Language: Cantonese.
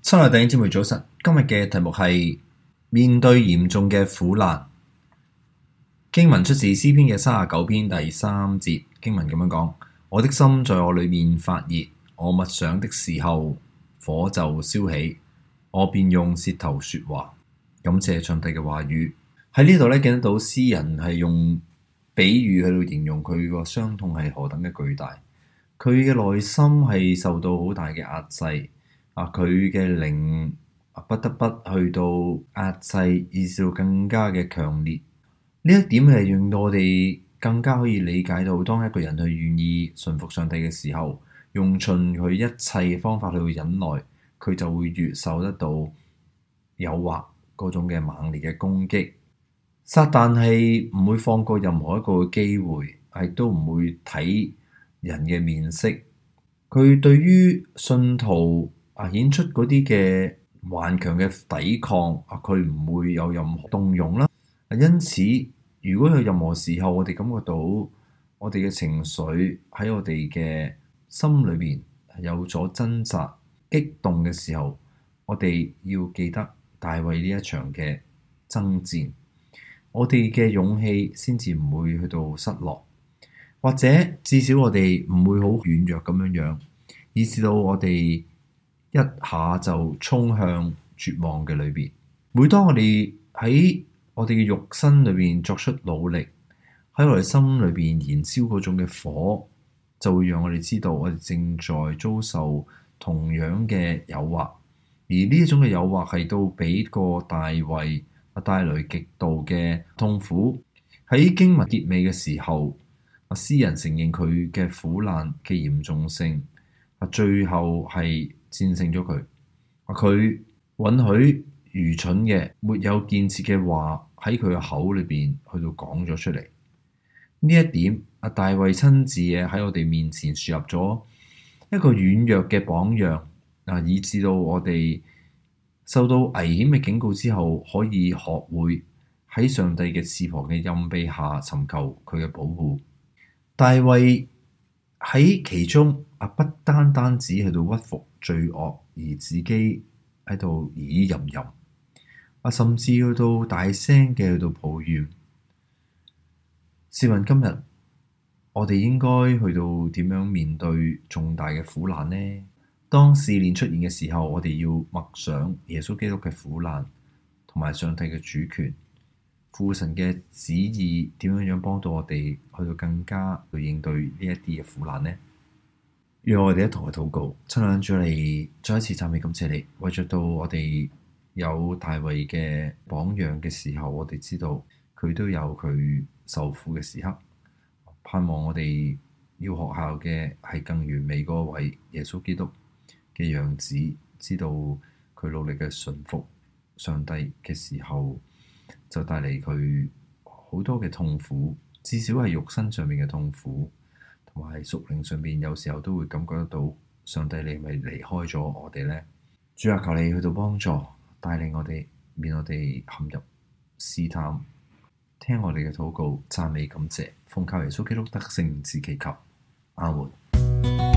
親愛弟兄姊妹早晨，今日嘅題目係面對嚴重嘅苦難。經文出自詩篇嘅39篇第3節，經文咁樣講：我的心在我裏面發熱，我默想的時候，火就燒起，我便用舌頭說話。感謝上帝嘅話語。喺呢度咧，見得到詩人係用比喻去到形容佢個傷痛係何等嘅巨大，佢嘅內心係受到好大嘅壓制。佢嘅靈不得不去到壓制，以至到更加嘅強烈。呢一點係令到我哋更加可以理解到，當一個人去願意順服上帝嘅時候，用盡佢一切方法去忍耐，佢就會越受得到誘惑嗰種嘅猛烈嘅攻擊。撒旦係唔會放過任何一個機會，亦都唔會睇人嘅面色。佢對於信徒顯出嗰啲嘅頑強嘅抵抗，佢唔會有任何動容啦。因此，如果有任何時候我哋感覺到我哋嘅情緒喺我哋嘅心裏邊有咗掙扎、激動嘅時候，我哋要記得大衛呢一場嘅爭戰，我哋嘅勇氣先至唔會去到失落，或者至少我哋唔會好軟弱咁樣樣，以至到我哋一下就衝向絕望嘅裏邊。每當我哋喺我哋嘅肉身裏邊作出努力，喺我哋心裏邊燃燒嗰種嘅火，就會讓我哋知道我哋正在遭受同樣嘅誘惑。而呢一種嘅誘惑係到俾個大衛帶來極度嘅痛苦。喺經文結尾嘅時候，詩人承認佢嘅苦難嘅嚴重性，最後係戰勝咗佢。佢允許愚蠢嘅、沒有建設嘅話喺佢嘅口裏邊去到講咗出嚟。呢一點，大衛親自喺我哋面前樹立咗一個軟弱嘅榜樣，以至到我哋受到危險嘅警告之後，可以學會喺上帝嘅翅膀嘅蔭庇下尋求佢嘅保護。大衛喺其中不單單只喺度屈服罪惡，而自己喺度耳吟吟，甚至去到大聲嘅去到抱怨。試問今日我哋應該去到點樣面對重大嘅苦難呢？當試煉出現嘅時候，我哋要默想耶穌基督嘅苦難，同埋上帝嘅主權，父神嘅旨意點樣幫到我哋去到更加去應對呢一啲嘅苦難呢？讓我哋一同去禱告。親愛的主，你再一次讚美感謝你，為著到我哋有大衛嘅榜樣嘅時候，我哋知道佢都有佢受苦嘅時刻。盼望我哋要學效嘅係更完美嗰位耶穌基督嘅樣子，知道佢努力嘅順服上帝嘅時候，就帶嚟佢好多嘅痛苦，至少係肉身上面嘅痛苦，同埋屬靈上面有時候都會感覺得到上帝你係咪離開咗我哋呢？主啊，求你去到幫助帶領我哋，免我哋陷入試探，聽我哋嘅禱告，讚美感謝，奉靠耶穌基督得勝名字祈求，阿門。